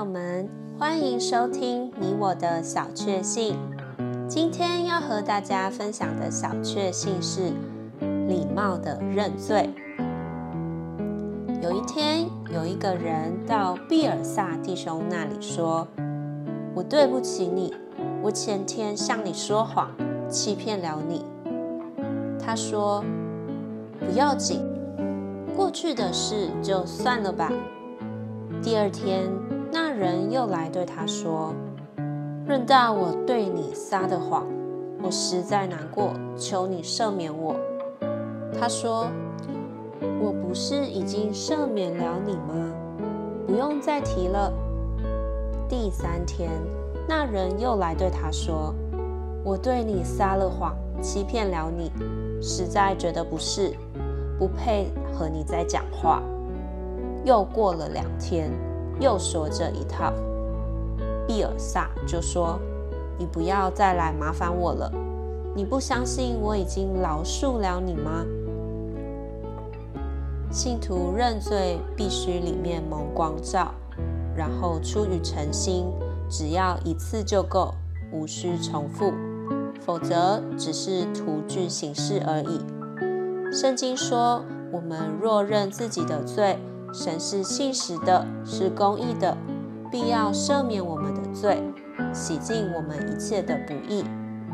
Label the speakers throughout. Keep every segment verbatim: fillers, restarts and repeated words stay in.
Speaker 1: 友們，歡迎收聽你我的小確幸。今天要和大家分享的小確幸是禮貌的認罪。有一天，有一個人到畢爾薩弟兄那裡說：“我對不起你，我前天向你說謊，欺騙了你。”他說：“不要緊，過去的事就算了吧。”第二天，那人又來對他說：“論到我對你撒的謊，我實在難過，求你赦免我。”他說：“我不是已經赦免了你嗎？不用再提了。”第三天，那人又來對他說：“我對你撒了謊，欺騙了你，實在覺得不是，不配和你再講話。”又過了兩天，又說這一套。畢爾薩就說：“你不要再來麻煩我了，你不相信我已經饒恕了你嗎？”信徒認罪必須裡面蒙光照，然後出於誠心，只要一次就夠，無需重複，否則只是徒具形式而已。聖經說，我們若認自己的罪，神是信實的，是公義的，必要赦免我們的罪，洗淨我們一切的不義。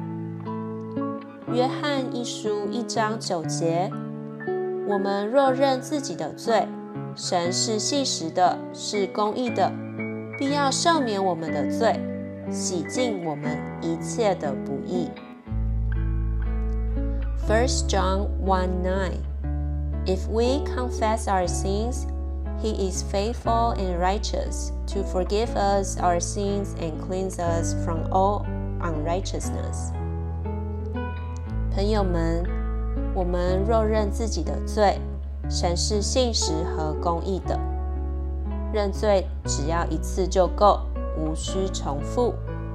Speaker 1: 約翰一書一章九節，我們若認自己的罪，神是信實的，是公義的，必要赦免我們的罪，洗淨我們一切的不義。First John one nine If we confess our sins, He is faithful and righteous to forgive us our sins and cleanse us from all unrighteousness. 朋友們，我們若認自己的罪，神是信實和公義的。認罪只要一次就夠，無需重複。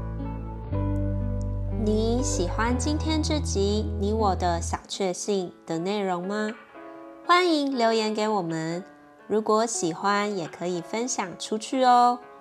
Speaker 1: 你喜歡今天這集你我的小確幸的內容嗎？歡迎留言給我們。如果喜歡，也可以分享出去哦。